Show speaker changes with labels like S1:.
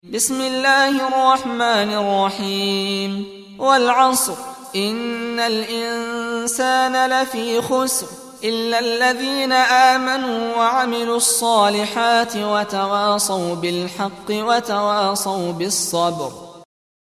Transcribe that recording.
S1: بسم الله الرحمن الرحيم والعصر إن الإنسان لفي خسر إلا الذين آمنوا وعملوا الصالحات وتواصوا بالحق وتواصوا بالصبر